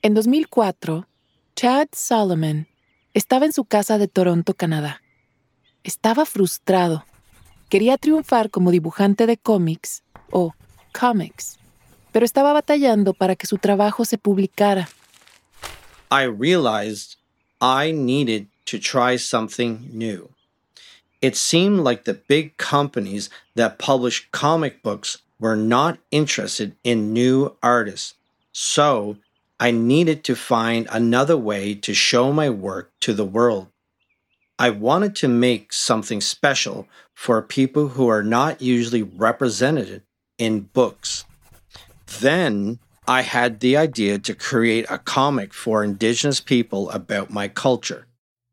En 2004, Chad Solomon estaba en su casa de Toronto, Canadá. Estaba frustrado. Quería triunfar como dibujante de cómics o comics, pero estaba batallando para que su trabajo se publicara. I realized I needed to try something new. It seemed like the big companies that publish comic books were not interested in new artists. So I needed to find another way to show my work to the world. I wanted to make something special for people who are not usually represented in books. Then I had the idea to create a comic for Indigenous people about my culture.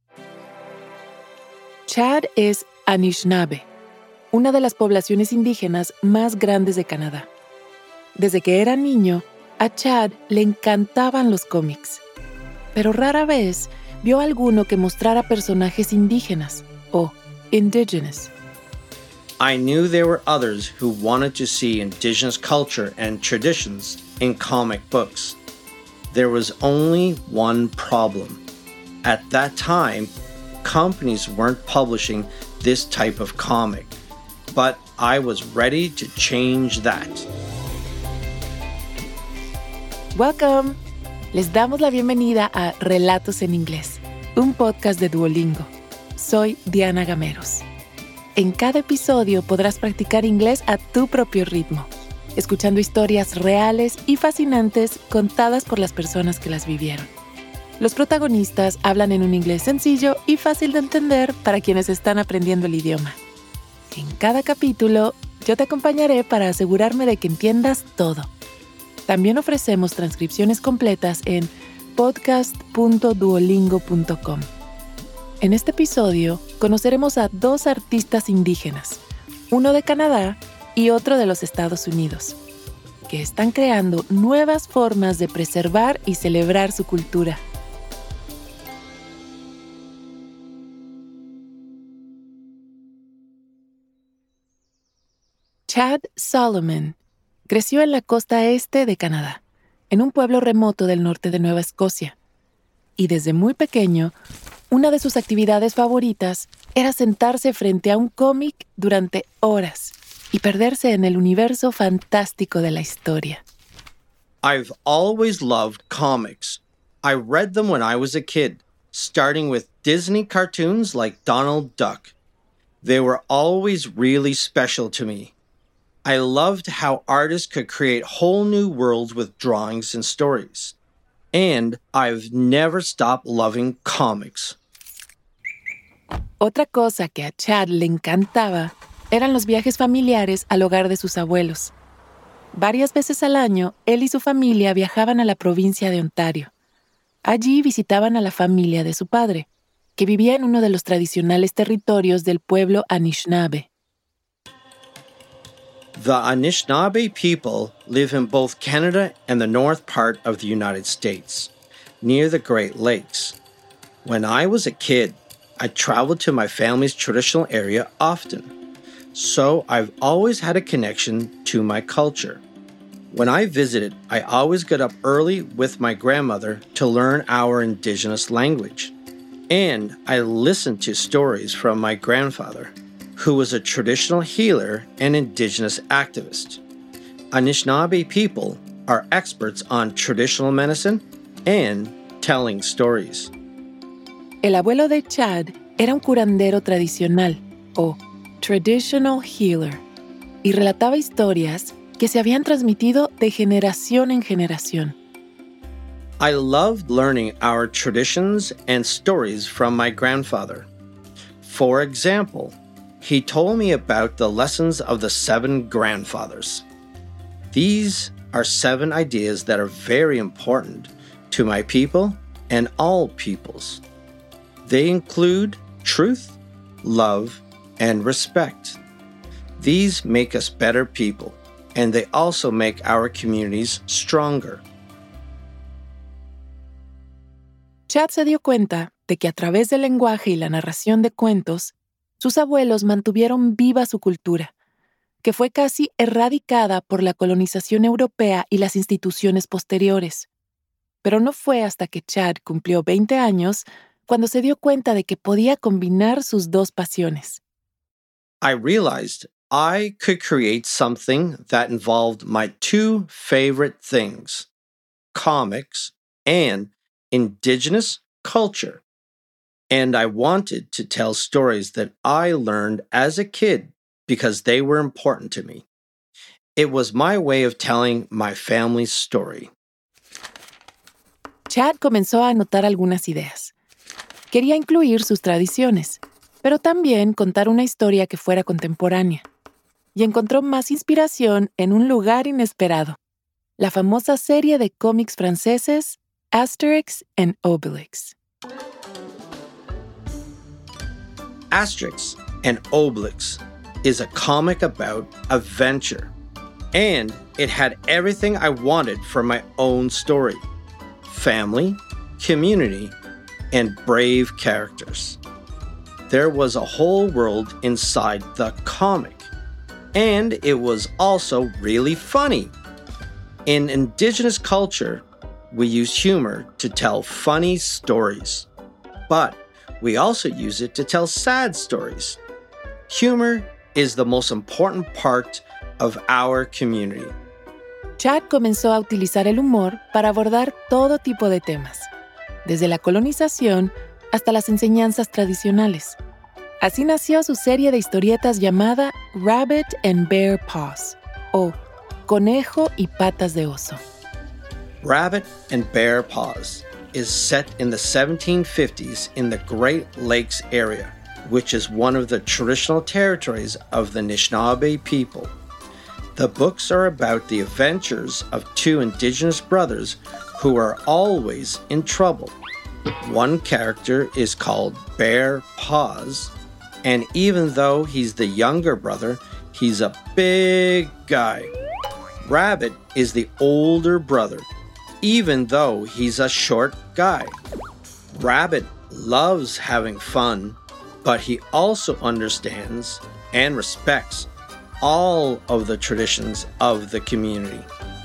Chad es Anishinaabe, una de las poblaciones indígenas más grandes de Canadá. Desde que era niño, a Chad le encantaban los cómics, pero rara vez vio alguno que mostrara personajes indígenas o indigenous. I knew there were others who wanted to see Indigenous culture and traditions in comic books. There was only one problem. At that time, companies weren't publishing this type of comic, but I was ready to change that. Welcome. Les damos la bienvenida a Relatos en Inglés, un podcast de Duolingo. Soy Diana Gameros. En cada episodio podrás practicar inglés a tu propio ritmo, escuchando historias reales y fascinantes contadas por las personas que las vivieron. Los protagonistas hablan en un inglés sencillo y fácil de entender para quienes están aprendiendo el idioma. En cada capítulo, yo te acompañaré para asegurarme de que entiendas todo. También ofrecemos transcripciones completas en podcast.duolingo.com. En este episodio, conoceremos a dos artistas indígenas, uno de Canadá y otro de los Estados Unidos, que están creando nuevas formas de preservar y celebrar su cultura. Chad Solomon creció en la costa este de Canadá, en un pueblo remoto del norte de Nueva Escocia. Y desde muy pequeño, una de sus actividades favoritas era sentarse frente a un cómic durante horas y perderse en el universo fantástico de la historia. I've always loved comics. I read them when I was a kid, starting with Disney cartoons like Donald Duck. They were always really special to me. I loved how artists could create whole new worlds with drawings and stories. And I've never stopped loving comics. Otra cosa que a Chad le encantaba eran los viajes familiares al hogar de sus abuelos. Varias veces al año, él y su familia viajaban a la provincia de Ontario. Allí visitaban a la familia de su padre, que vivía en uno de los tradicionales territorios del pueblo Anishinaabe. The Anishinaabe people live in both Canada and the north part of the United States, near the Great Lakes. When I was a kid, I traveled to my family's traditional area often, so I've always had a connection to my culture. When I visited, I always got up early with my grandmother to learn our Indigenous language. And I listened to stories from my grandfather, who was a traditional healer and Indigenous activist. Anishinaabe people are experts on traditional medicine and telling stories. El abuelo de Chad era un curandero tradicional, o traditional healer, y relataba historias que se habían transmitido de generación en generación. I loved learning our traditions and stories from my grandfather. For example, he told me about the lessons of the 7 grandfathers. These are 7 ideas that are very important to my people and all peoples. They include truth, love, and respect. These make us better people, and they also make our communities stronger. Chad se dio cuenta de que a través del lenguaje y la narración de cuentos, sus abuelos mantuvieron viva su cultura, que fue casi erradicada por la colonización europea y las instituciones posteriores. pero no fue hasta que Chad cumplió 20 años cuando se dio cuenta de que podía combinar sus dos pasiones. I realized I could create something that involved my two favorite things, comics and indigenous culture. And I wanted to tell stories that I learned as a kid because they were important to me. It was my way of telling my family's story. Chad comenzó a anotar algunas ideas. Quería incluir sus tradiciones, pero también contar una historia que fuera contemporánea. Y encontró más inspiración en un lugar inesperado, la famosa serie de cómics franceses Asterix and Obelix. Asterix and Obelix is a comic about adventure, and it had everything I wanted for my own story: family, community, and brave characters. There was a whole world inside the comic, and it was also really funny. In indigenous culture, we use humor to tell funny stories, but we also use it to tell sad stories. Humor is the most important part of our community. Chad comenzó a utilizar el humor para abordar todo tipo de temas, desde la colonización hasta las enseñanzas tradicionales. Así nació su serie de historietas llamada Rabbit and Bear Paws, o Conejo y Patas de Oso. Rabbit and Bear Paws is set in the 1750s in the Great Lakes area, which is one of the traditional territories of the Anishinaabe people. The books are about the adventures of two indigenous brothers who are always in trouble. One character is called Bear Paws, and even though he's the younger brother, he's a big guy. Rabbit is the older brother, even though he's a short guy. Rabbit loves having fun, but he also understands and respects all of the traditions of the community.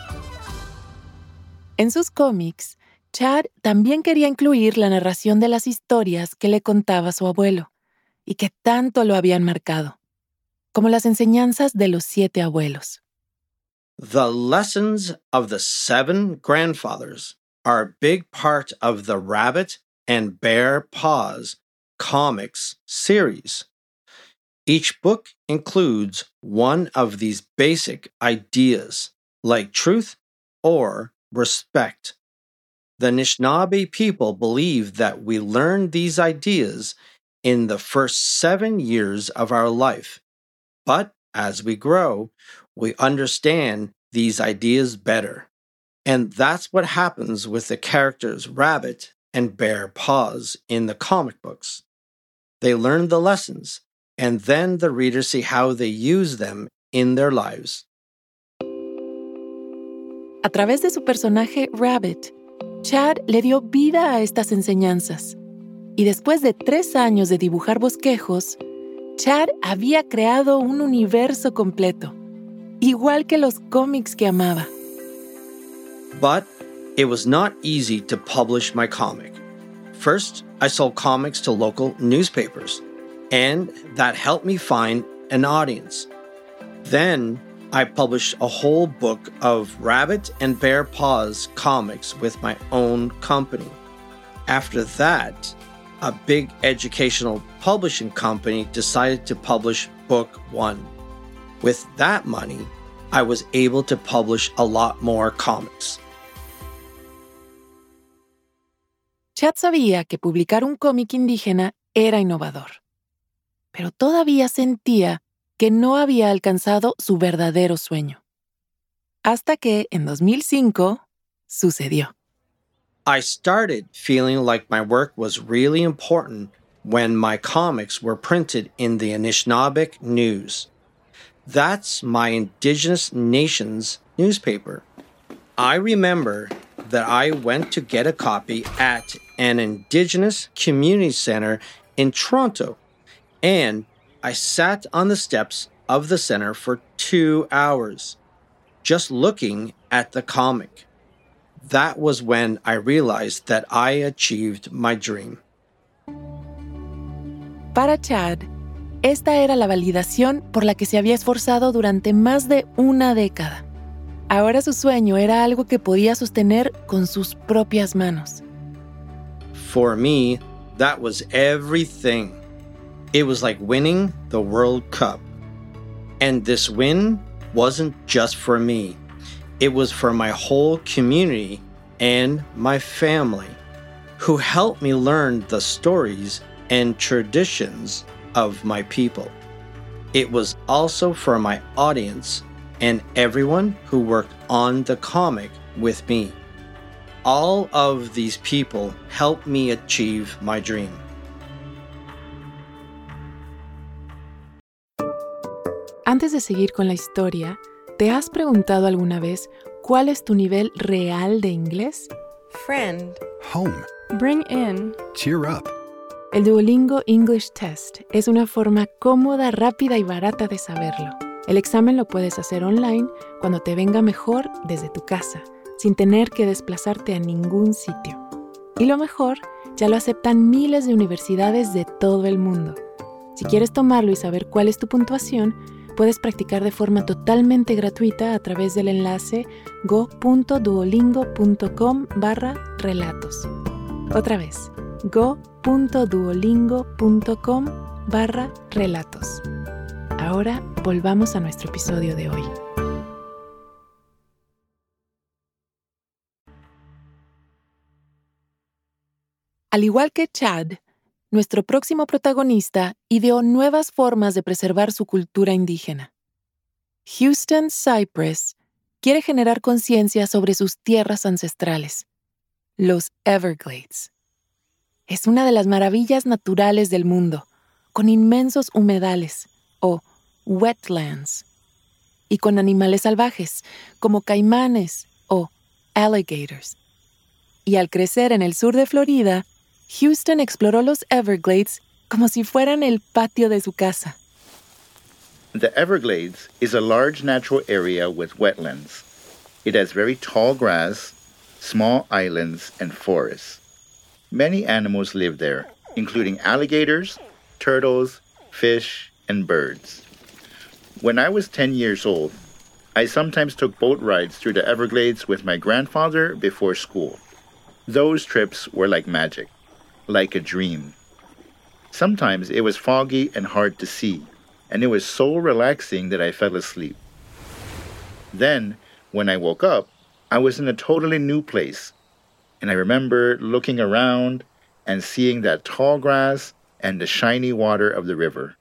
En sus cómics, Chad también quería incluir la narración de las historias que le contaba su abuelo y que tanto lo habían marcado, como las enseñanzas de los 7 abuelos. The lessons of the 7 grandfathers are a big part of the Rabbit and Bear Paws comics series. Each book includes one of these basic ideas, like truth or respect. The Anishinaabe people believe that we learn these ideas in the first 7 years of our life, but as we grow, we understand these ideas better. And that's what happens with the characters Rabbit and Bear Paws in the comic books. They learn the lessons, and then the readers see how they use them in their lives. A través de su personaje Rabbit, Chad le dio vida a estas enseñanzas. Y después de 3 años de dibujar bosquejos, Chad había creado un universo completo, igual que los cómics que amaba. But it was not easy to publish my comic. First, I sold comics to local newspapers, and that helped me find an audience. Then, I published a whole book of Rabbit and Bear Paws comics with my own company. After that, a big educational publishing company decided to publish book 1. With that money, I was able to publish a lot more comics. Chad sabía que publicar un cómic indígena era innovador, pero todavía sentía que no había alcanzado su verdadero sueño. Hasta que, en 2005, sucedió. I started feeling like my work was really important when my comics were printed in the Anishinaabe News. That's my Indigenous Nations newspaper. I remember that I went to get a copy at an Indigenous Community Center in Toronto, and I sat on the steps of the center for 2 hours, just looking at the comic. That was when I realized that I achieved my dream. Para Chad, esta era la validación por la que se había esforzado durante más de una década. Ahora su sueño era algo que podía sostener con sus propias manos. For me, that was everything. It was like winning the World Cup. And this win wasn't just for me. It was for my whole community and my family, who helped me learn the stories and traditions of my people. It was also for my audience and everyone who worked on the comic with me. All of these people helped me achieve my dream. Antes de seguir con la historia, ¿te has preguntado alguna vez cuál es tu nivel real de inglés? Friend. Home. Bring in. Cheer up. El Duolingo English Test es una forma cómoda, rápida y barata de saberlo. El examen lo puedes hacer online cuando te venga mejor desde tu casa, sin tener que desplazarte a ningún sitio. Y lo mejor, ya lo aceptan miles de universidades de todo el mundo. Si quieres tomarlo y saber cuál es tu puntuación, puedes practicar de forma totalmente gratuita a través del enlace go.duolingo.com/relatos. Otra vez, go.duolingo.com/relatos. Ahora volvamos a nuestro episodio de hoy. Al igual que Chad, nuestro próximo protagonista ideó nuevas formas de preservar su cultura indígena. Houston Cypress quiere generar conciencia sobre sus tierras ancestrales, los Everglades. Es una de las maravillas naturales del mundo, con inmensos humedales, o wetlands, y con animales salvajes, como caimanes o alligators. Y al crecer en el sur de Florida, Houston exploró los Everglades como si fueran el patio de su casa. The Everglades is a large natural area with wetlands. It has very tall grass, small islands, and forests. Many animals live there, including alligators, turtles, fish, and birds. When I was 10 years old, I sometimes took boat rides through the Everglades with my grandfather before school. Those trips were like magic, like a dream. Sometimes it was foggy and hard to see, and it was so relaxing that I fell asleep. Then, when I woke up, I was in a totally new place, and I remember looking around and seeing that tall grass and the shiny water of the river.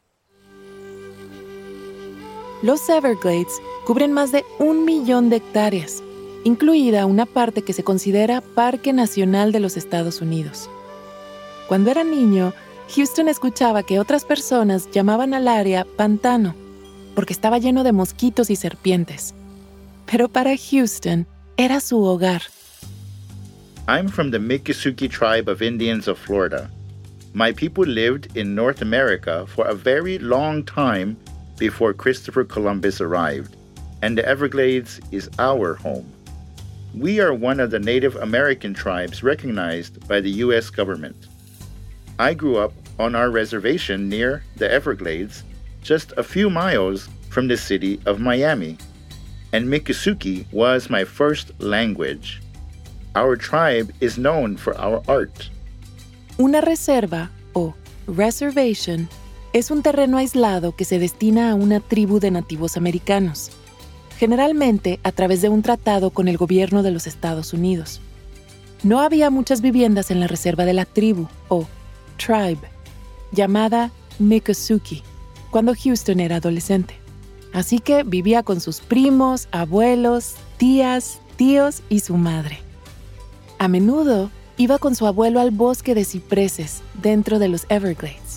Los Everglades cubren más de 1 millón de hectáreas, incluida una parte que se considera Parque Nacional de los Estados Unidos. Cuando era niño, Houston escuchaba que otras personas llamaban al área pantano, porque estaba lleno de mosquitos y serpientes. Pero para Houston, era su hogar. I'm from the Miccosukee tribe of Indians of Florida. My people lived in North America for a very long time before Christopher Columbus arrived, and the Everglades is our home. We are one of the Native American tribes recognized by the U.S. government. I grew up on our reservation near the Everglades, just a few miles from the city of Miami, and Miccosukee was my first language. Our tribe is known for our art. Una reserva, o reservation, es un terreno aislado que se destina a una tribu de nativos americanos, generalmente a través de un tratado con el gobierno de los Estados Unidos. No había muchas viviendas en la reserva de la tribu, o tribe, llamada Miccosukee, cuando Houston era adolescente. Así que vivía con sus primos, abuelos, tías, tíos y su madre. A menudo iba con su abuelo al bosque de cipreses dentro de los Everglades.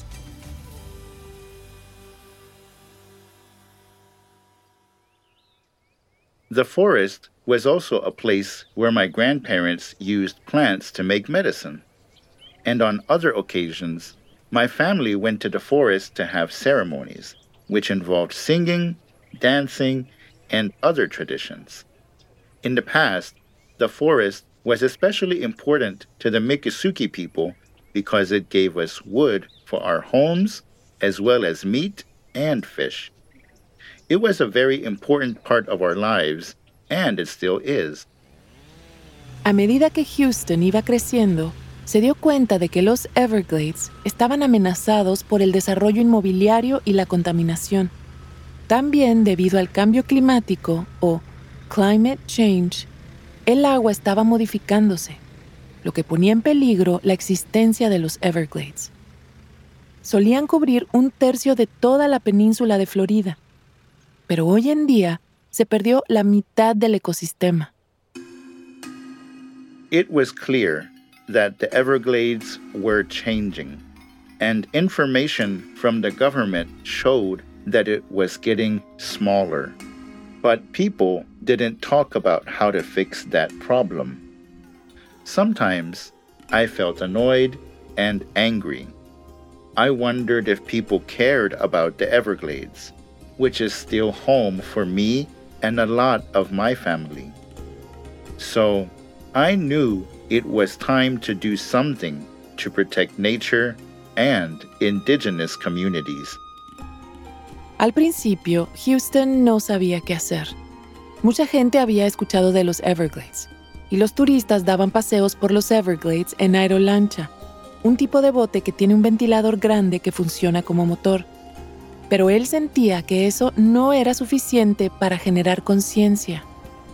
The forest was also a place where my grandparents used plants to make medicine. And on other occasions, my family went to the forest to have ceremonies, which involved singing, dancing, and other traditions. In the past, the forest was especially important to the Miccosukee people because it gave us wood for our homes as well as meat and fish. It was a very important part of our lives, and it still is. A medida que Houston iba creciendo, se dio cuenta de que los Everglades estaban amenazados por el desarrollo inmobiliario y la contaminación. También debido al cambio climático o climate change, el agua estaba modificándose, lo que ponía en peligro la existencia de los Everglades. Solían cubrir 1/3 de toda la península de Florida, pero hoy en día se perdió la mitad del ecosistema. It was clear that the Everglades were changing, and information from the government showed that it was getting smaller. But people didn't talk about how to fix that problem. Sometimes I felt annoyed and angry. I wondered if people cared about the Everglades, which is still home for me and a lot of my family. So I knew it was time to do something to protect nature and indigenous communities. Al principio, Houston no sabía qué hacer. Mucha gente había escuchado de los Everglades, y los turistas daban paseos por los Everglades en aerolancha, un tipo de bote que tiene un ventilador grande que funciona como motor. Pero él sentía que eso no era suficiente para generar conciencia.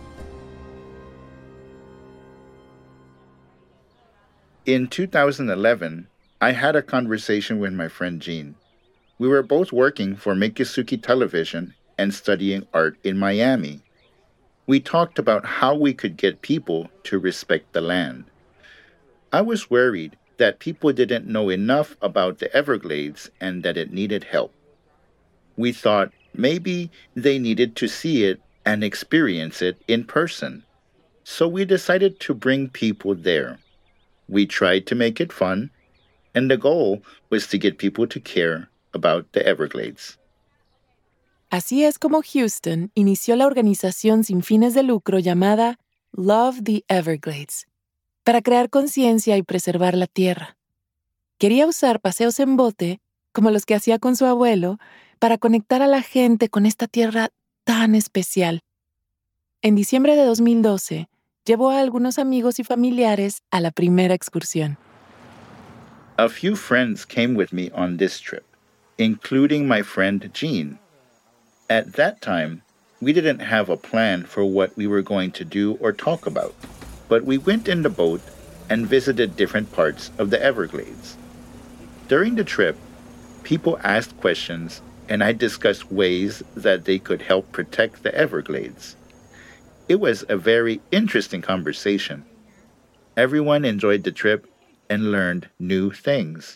In 2011, I had a conversation with my friend Jean. We were both working for Miccosukee Television and studying art in Miami. We talked about how we could get people to respect the land. I was worried that people didn't know enough about the Everglades and that it needed help. We thought maybe they needed to see it and experience it in person. So we decided to bring people there. We tried to make it fun, and the goal was to get people to care about the Everglades. Así es como Houston inició la organización sin fines de lucro llamada Love the Everglades, para crear conciencia y preservar la tierra. Quería usar paseos en bote, como los que hacía con su abuelo, para conectar a la gente con esta tierra tan especial. En diciembre de 2012, llevó a algunos amigos y familiares a la primera excursión. A few friends came with me on this trip, including my friend Jean. At that time, we didn't have a plan for what we were going to do or talk about, but we went in the boat and visited different parts of the Everglades. During the trip, people asked questions and I discussed ways that they could help protect the Everglades. It was a very interesting conversation. Everyone enjoyed the trip and learned new things.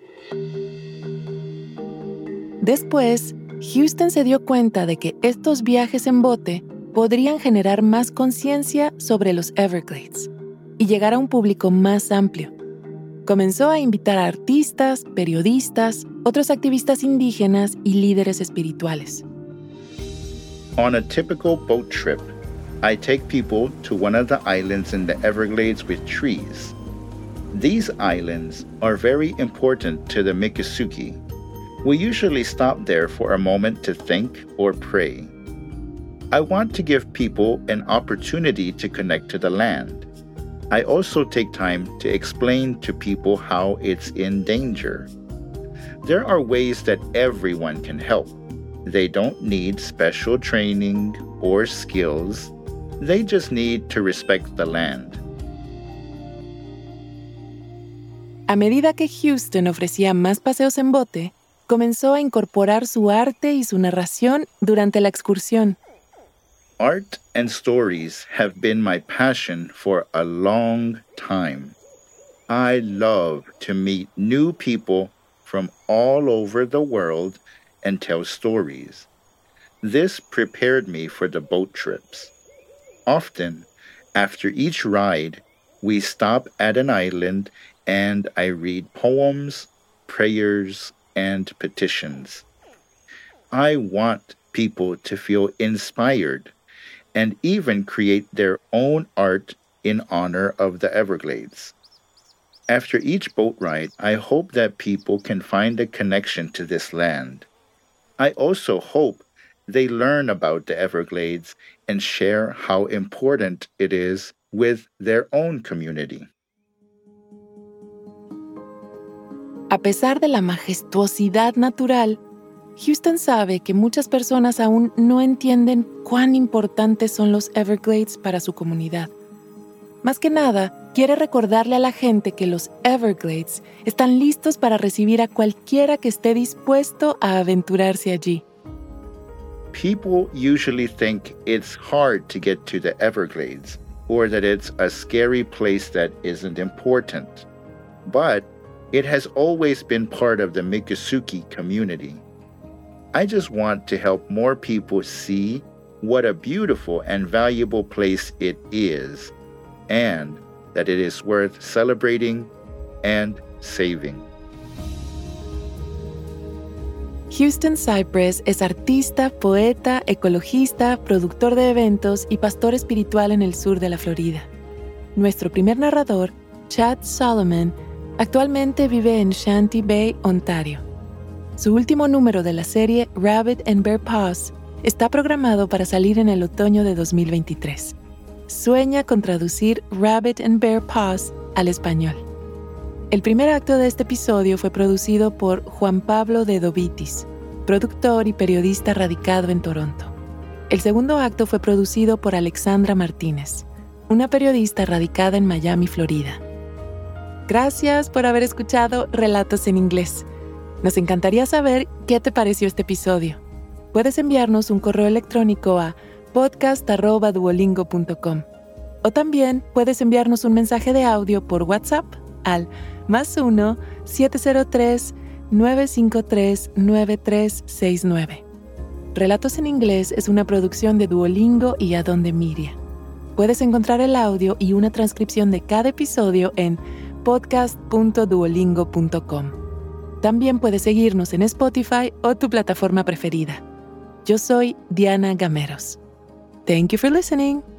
Después, Houston se dio cuenta de que estos viajes en bote podrían generar más conciencia sobre los Everglades y llegar a un público más amplio. Comenzó a invitar a artistas, periodistas, otros activistas indígenas y líderes espirituales. On a typical boat trip, I take people to one of the islands in the Everglades with trees. These islands are very important to the Miccosukee. We usually stop there for a moment to think or pray. I want to give people an opportunity to connect to the land. I also take time to explain to people how it's in danger. There are ways that everyone can help. They don't need special training or skills. They just need to respect the land. A medida que Houston ofrecía más paseos en bote, comenzó a incorporar su arte y su narración durante la excursión. Art and stories have been my passion for a long time. I love to meet new people from all over the world and tell stories. This prepared me for the boat trips. Often, after each ride, we stop at an island and I read poems, prayers, and petitions. I want people to feel inspired and even create their own art in honor of the Everglades. After each boat ride, I hope that people can find a connection to this land. I also hope they learn about the Everglades and share how important it is with their own community. A pesar de la majestuosidad natural, Houston sabe que muchas personas aún no entienden cuán importantes son los Everglades para su comunidad. Más que nada, quiere recordarle a la gente que los Everglades están listos para recibir a cualquiera que esté dispuesto a aventurarse allí. People usually think it's hard to get to the Everglades, or that it's a scary place that isn't important. But it has always been part of the Miccosukee community. I just want to help more people see what a beautiful and valuable place it is, and that it is worth celebrating and saving. Houston Cypress es artista, poeta, ecologista, productor de eventos y pastor espiritual en el sur de la Florida. Nuestro primer narrador, Chad Solomon, actualmente vive en Shanty Bay, Ontario. Su último número de la serie Rabbit and Bear Paws está programado para salir en el otoño de 2023. Sueña con traducir Rabbit and Bear Paws al español. El primer acto de este episodio fue producido por Juan Pablo de Dovitis, productor y periodista radicado en Toronto. El segundo acto fue producido por Alexandra Martínez, una periodista radicada en Miami, Florida. Gracias por haber escuchado Relatos en Inglés. Nos encantaría saber qué te pareció este episodio. Puedes enviarnos un correo electrónico a podcast@duolingo.com o también puedes enviarnos un mensaje de audio por WhatsApp al +1 703 953 9369. Relatos en Inglés es una producción de Duolingo y Adonde Media. Puedes encontrar el audio y una transcripción de cada episodio en podcast.duolingo.com. También puedes seguirnos en Spotify o tu plataforma preferida. Yo soy Diana Gameros. Thank you for listening.